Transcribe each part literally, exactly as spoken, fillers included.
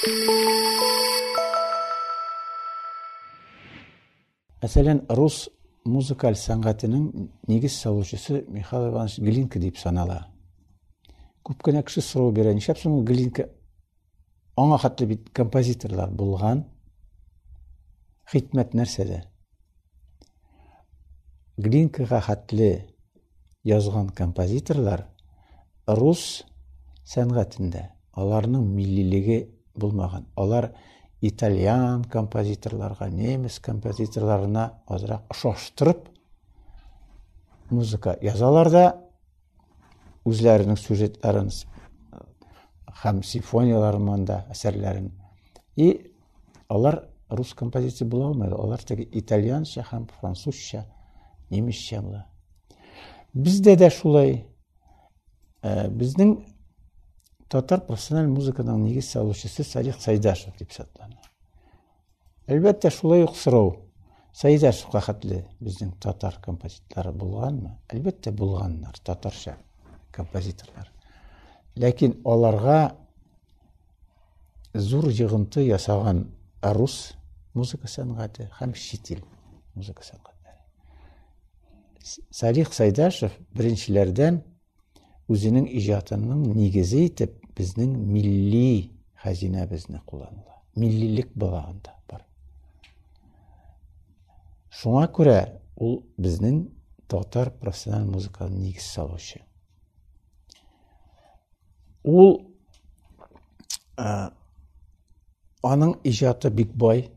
Мәсәлән, рус музыкаль сәнгатенең нигез салучысы Михаил Иванович Глинка дип санала. Күп кенә кеше сорау бирә, нишләп соң Глинка аңа хәтле бит композиторлар булган? Хикмәт нәрсәдә? Глинкага хәтле язган композиторлар рус сәнгатендә аларның миллилеге булмаган. Алар итальян композиторларга, немец композиторларына азрак ошаштырып музыка язалар да үзләренең сюжетларын һәм симфонияларын да әсәрләрен. И алар рус композиция була алмайды. Алар теге итальянча һәм французча, немецча була. Бездә дә шулай. Безнең татар профессиональ музыканың нигез салучысы Салих Сайдашев дип санала. Әлбәттә, шулай ук сорау. Сайдашевка хәтле безнең татар композиторлары булганмы? Әлбәттә, булганнар, татарча композиторлар. Ләкин аларга зур йогынты ясаган рус музыка сәнгате һәм чит ил музыка сәнгате. Салих Сайдашев беренчеләрдән үзенең иҗатының нигезе итеп безнең милли хәзинәбезне кулланыла. Миллилек багында бар. Шуңа күрә ул безнең татар профессиональ музыканың нигез салучы. Ул аның иҗаты бик бай.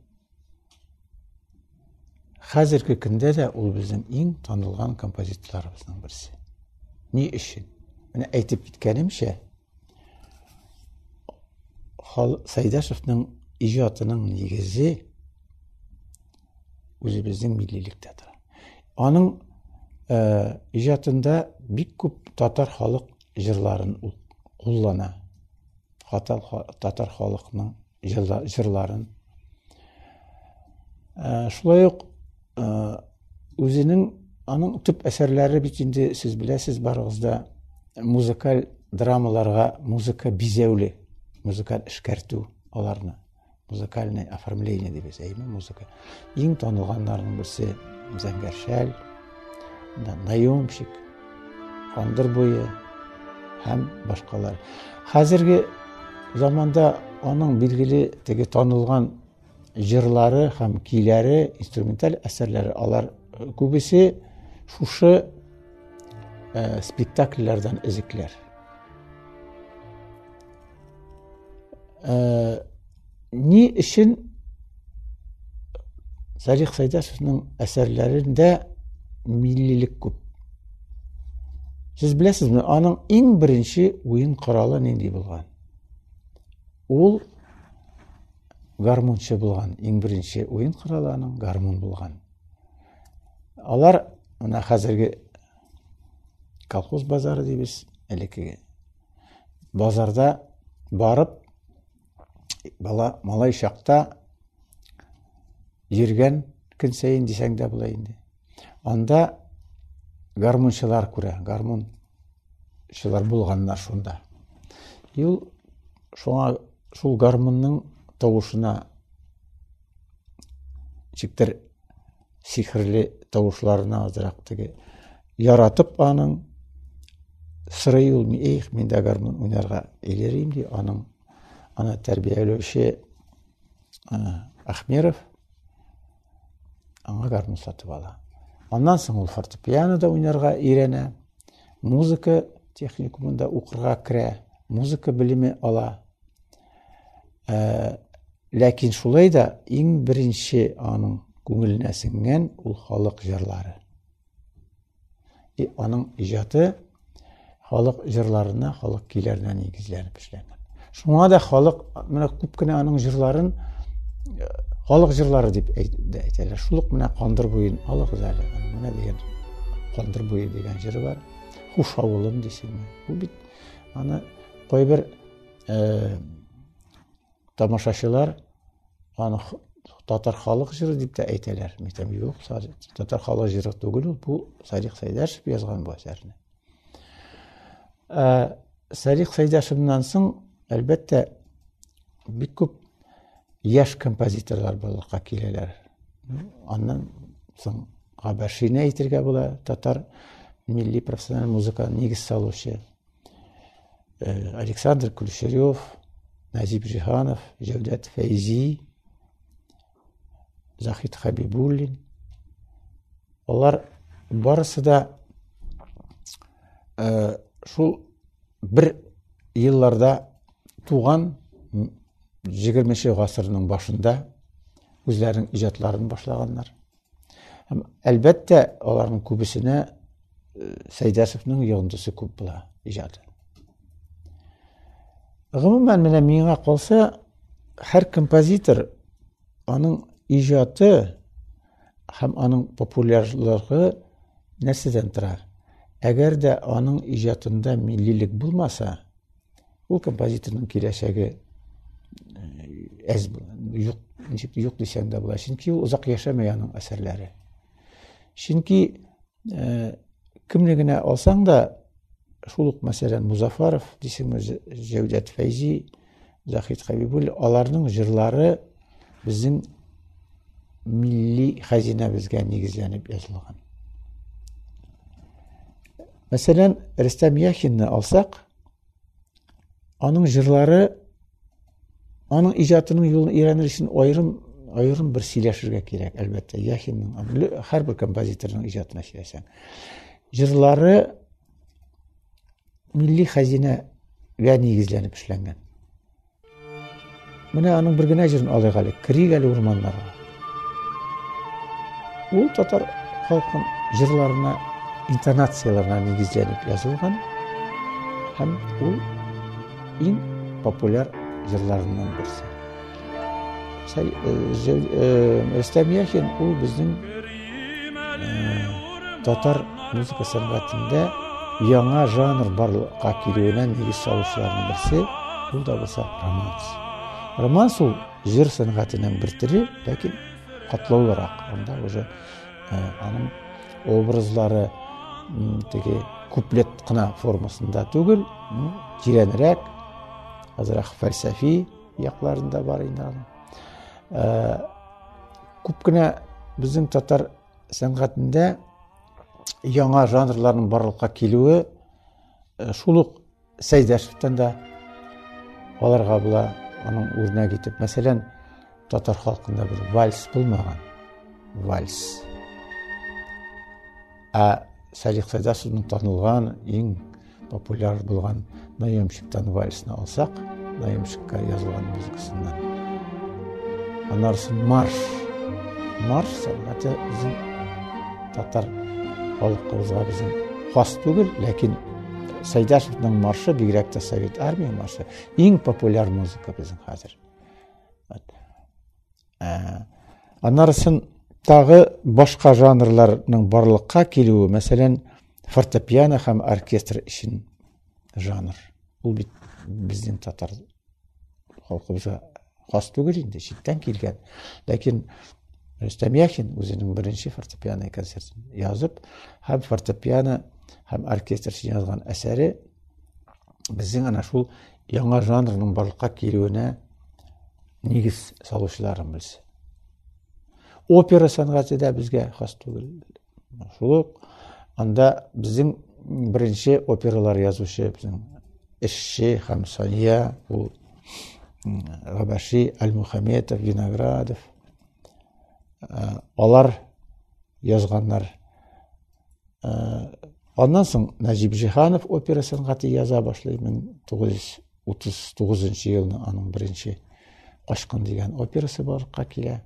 Хәзерге көндә дә ул безнең иң танылган композиторларыбызның берсе. Ни өчен? Менә әйтеп киткәнемчә, Сайдашевның иҗатының нигезе үзебезнең миллилектә тора. Аның иҗатында бик күп татар халык җырларын куллана. Татар халыкның җырларын. Шулай ук үзенең аның төп әсәрләре бит инде сез беләсез барыгызда музыкаль драмаларга музыка бизәүле, музыкаль эшкәртү аларны, музыкальное оформление дип әйтәме, музыка. Иң танылганнарның берсе Зәңгәршәл, Наемщик, Кандыр буе һәм башкалар. Хәзерге заманда аның билгеле теге танылган җырлары һәм көйләре, инструменталь әсәрләре алар күбесе шушы спектакльләрдән өзекләр. Ни өчен Салих Сайдашевның әсәрләрендә миллилек күп? Сез беләсезме, аның иң беренче уен коралы нинди булган? Ул гармончы булган. Иң беренче уен коралы аның гармон булган. Алар менә хәзерге колхоз базары дибез, элекеге базарда барып бала малай чакта йөргән көн саен дисәң дә була инде. Анда гармончылар күрә, гармончылар булганнар шунда. Ул шуңа шул гармонның тавышына чиктер сихрле тавышларына азрак теге яратып аның сырый ул, "Эйх, мен дә гармон уйнарга элерим" ди. Аның аны тәрбияләүче Ахмеров аңа гармон сатып ала. Аннан соң ул фортепианода уйнарга өйрәнә, музыка техникумында укырга керә, музыка белеме ала. Ләкин шулай да иң беренче аның күңеленә сеңгән ул халык җырлары. И аның иҗаты халык җырларына, халык көйләренә нигезләнеп эшләнгән. Шуңа да халык менә күп кенә аның җырларын халык җырлары дип әйтәләр. Шул ук менә Кандыр буен алыгыз әле. Менә дигән Кандыр буе дигән җыры бар. Хуш авылым дисеңме? Бу бит аны кайбер тамашачылар аны татар халык җыры дип тә әйтәләр. Митәм юк, татар халык җыры түгел, бу Салих Сайдашев язган бу әсәрне. Салих Сайдашевнан соң әлбәттә бик күп яшь композиторлар булырга киләләр. Аннан соң Габашины әйтергә була, татар милли профессиональ музыка нигез салучы. Александр Кулешерев, Назип Жиханов, Җәүдәт Фәйзи, Захит Хабибуллин. Алар барысы да шул бер елларда туган егерменче гасырның башында үзләренең иҗатларын башлаганнар. Һәм әлбәттә аларның күбесенә Сәйдәшевнең йондысы күп була иҗаты. Гомумән менә миңа калса, һәр композитор аның иҗаты һәм аның популярлыгы нәрсәдән тора? Әгәр дә аның иҗатында миллилек булмаса, ул композиторның киләчәге әз юк, ничек юк дисәң дә була. Чөнки ул озак яшәмәй аның әсәрләре. Чөнки кемне генә алсаң да, шул ук мәсәлән Музафаров, дисеңме, Җәүдәт Фәйзи, Захит Хабибуллин, аларның җырлары безнең милли хәзинәбезгә нигезләнеп язылган. Мәсәлән, Рөстәм Яхинны алсак, аның җырлары, аның иҗатының юлын өйрәнер өчен аерым аерым бер сөйләшергә кирәк, әлбәттә. Яхинның, һәрбер композиторның иҗатына сөйләсәң, җырлары милли хәзинәгә нигезләнеп эшләнгән. Менә аның бер генә җырын алыйк әле, Кирик әле урманнарга. Ул татар халкының җырларына, интонацияларына нигезләнеп язылган һәм ул иң популяр җырларыннан берсе. Рөстәм Яхин ул безнең татар музыка сәнгатендә яңа жанр барлыкка килүенә нигез салучыларның берсе, ул да булса романс. Романс ул җыр сәнгатенең бер төре, ләкин катлаулырак. Анда уже аның образлары теге куплет кына формасында түгел, тирәнрәк, азрак фәлсәфи якларында бар инде аның. Күп кенә безнең татар сәнгатендә яңа жанрларның барлыкка килүе шул ук Сәйдәшевтән дә аларга була аның үрнәк итеп. Мәсәлән, татар халкында бер вальс булмаган. Вальс. Ә Салих Сәйдәшевнең танылган, иң популяр булган Наемщиктан вальсны алсак, Наемщикка язылган музыкасыннан. Аннарсын марш. Марш сәнгате безнең татар халкыбызга безнең хас түгел, ләкин Сәйдәшевнең маршы, бигрәк тә Совет армия маршы, иң популяр музыка безнең хәзер. Аннарсын тагы башка жанрларның барлыкка килүе, мәсәлән, фортепиано һәм оркестр өчен жанр. Ул бит безнең татар халкыбызга хас түгел инде, читтән килгән. Ләкин Рөстәм Яхин үзенең беренче фортепиано концертын язып, һәм фортепиано һәм оркестр өчен язган әсәре безнең ана шул яңа жанрның барлыкка килүенә нигез салучыларын белсә. Опера сәнгате дә безгә хас түгел. Шул ук анда безнең беренче опералар язучы, безнең эшче һәм Сания, ул Габаши, Аль-Мухаметов, Виноградов, алар язганнар. Аннан соң Назип Жиханов опера сәнгате яза башлый. мең тугыз йөз утыз тугызынчы елның аның беренче Кашкын дигән операсы барлыкка килә.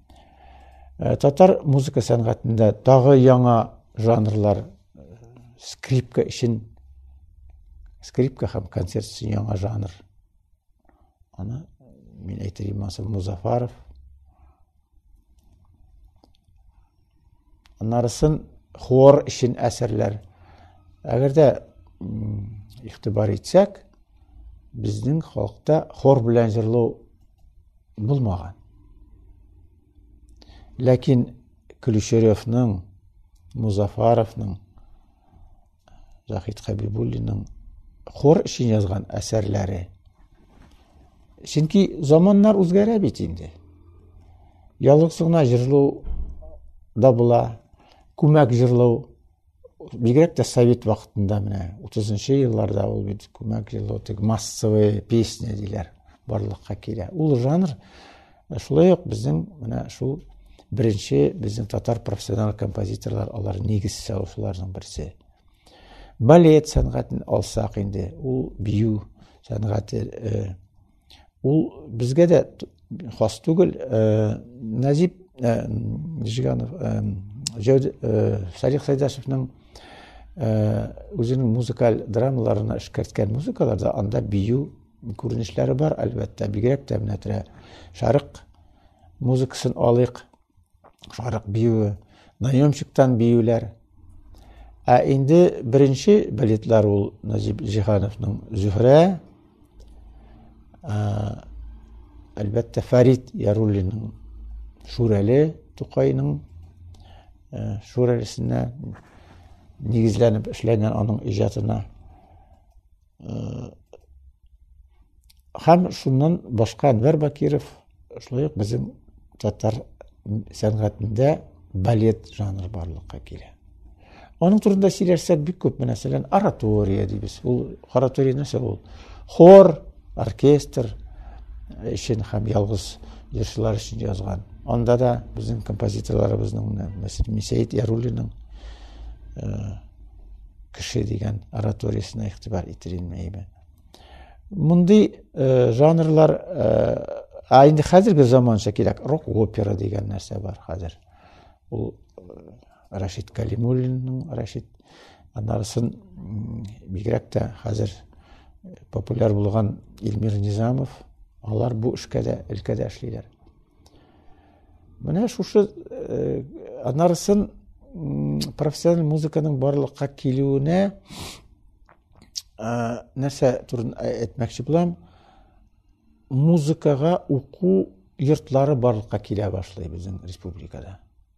Татар музыка сәнгатендә тагы яңа жанрлар, скрипка өчен, скрипка һәм концерт өчен яңа жанр. Аны мин әйтергә Музафаров. Аннарысын хор өчен әсәрләр. Әгәр дә игътибар итсәк, безнең халыкта хор белән җырлау булмаган. Ләкин Кулешеревның, Музафаровның, Захит Хабибуллинның хор өчен язган әсәрләре Чөнки заманнар үзгәрә бит инде. Ялгыз гына җырлау да була, күмәк җырлау. Бигрәк тә совет вакытында менә утызынчы елларда ул бит күмәк җырлау, тик массовый песня диләр, барлыкка килә. Ул жанр шулай ук безнең менә шул беренче безнең татар профессионал композиторлар, алар нигез салучыларның берсе. Балет сәнгатен алсак инде, ул бию сәнгате, ул безгә дә хас түгел. Назип Жиганов, Салих Сайдашевның үзенең музыкаль драмаларына эшкәрткән музыкаларда анда бию күренешләре бар, әлбәттә. Бигрәк тә менә тирә шарык музыкасын алыйк, шарык биюе, наемчиктан биюләр. Ә инде беренче балетлар ул Назип Жихановның Зөһрә, әлбәттә Фарид Яруллинның Шүрәле, Тукайның Шүрәлесенә нигезләнеп эшләнгән аның иҗатына. Һәм шуннан башка Әнвәр Бакиров, шулай ук безнең татар сәнгатендә балет жанры барлыкка килә. Аның турында сөйләсәк бик күп, мәсәлән, оратория дибез. Ул оратория нәрсә ул? Хор, оркестр өчен һәм ялгыз җырчылар өчен язган. Анда да безнең композиторларыбызның, мәсәлән, Мисәет Яруллинның кеше дигән ораториясенә игътибар ителмәйме. Мондый жанрлар, ә инде хәзерге заманча кирәк, рок-опера дигән нәрсә бар хәзер. Ул Рашид Калимуллинның, Рашид, аннарысын бигрәк тә хәзер популяр булган Илмир Низамов, алар бу эшкә дә өлкәдә эшлиләр. Менә шушы аннарысын профессиональ музыканың барлыкка килүенә нәрсә турында әйтмәкче булам? Музыкага уку йортлары барлыкка килә башлый безнең республикада.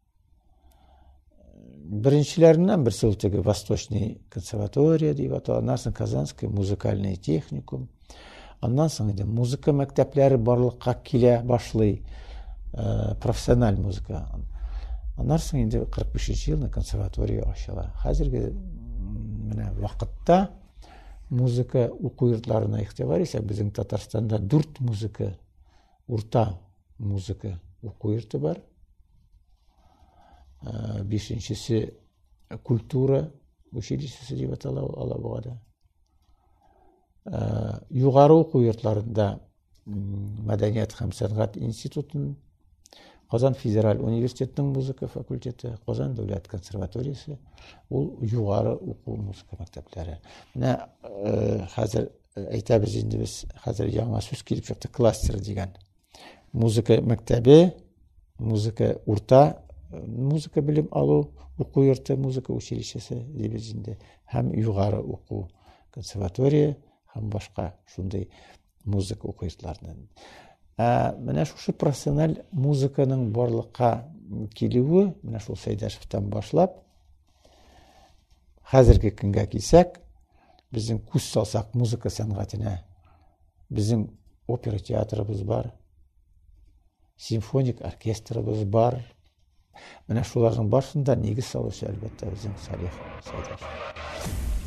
Беренчеләреннән берсе ул теге Восточный консерватория дип атала, аннан соң Казанский музыкальный техникум. Аннан соң инде музыка мәктәпләре барлыкка килә башлый, профессиональ музыка. Аннан соң инде кырык бишенче елда консерватория ачыла. Хәзерге менә вакытта музыка уку йортларына игътибар итсәк, безнең Татарстанда дүрт музыка, урта музыка уку йорты бар. Бишенчесе культура училищесы дип атала Алабугада. Югары уку йортларында Мәдәният һәм сәнгать институтын, Казан федераль университетының музыка факультеты, Казан дәүләт консерваториясы, ул югары уку музыка мәктәпләре. Менә хәзер әйтәбез инде без, хәзер яңа сүз килеп чыкты, кластер дигән. Музыка мәктәбе, музыка урта музыка белем алу уку йорты, музыка училищесы дибез инде, һәм югары уку консерватория һәм башка шундый музыка уку йортларынан. Менә шушы профессиональ музыканың барлыкка килүе, менә шул Сәйдәшевтән башлап, хәзерге көнгә килсәк, безнең күз салсак музыка сәнгатенә, безнең опера театрыбыз бар, симфоник оркестрыбыз бар. Менә шуларның барышында нигез салучы әлбәттә безнең Салих Сәйдәшев.